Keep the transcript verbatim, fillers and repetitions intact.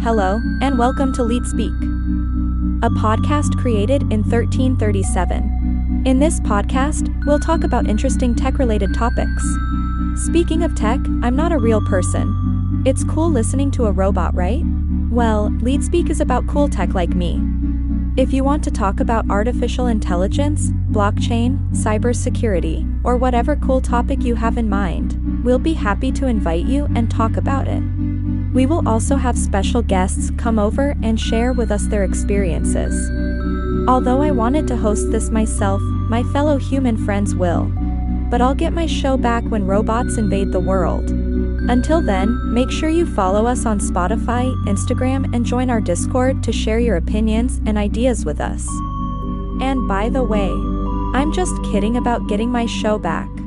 Hello, and welcome to Lead Speak, a podcast created in thirteen thirty-seven. In this podcast, we'll talk about interesting tech-related topics. Speaking of tech, I'm not a real person. It's cool listening to a robot, right? Well, Lead Speak is about cool tech like me. If you want to talk about artificial intelligence, blockchain, cybersecurity, or whatever cool topic you have in mind, we'll be happy to invite you and talk about it. We will also have special guests come over and share with us their experiences. Although I wanted to host this myself, my fellow human friends will. But I'll get my show back when robots invade the world. Until then, make sure you follow us on Spotify, Instagram, and join our Discord to share your opinions and ideas with us. And by the way, I'm just kidding about getting my show back.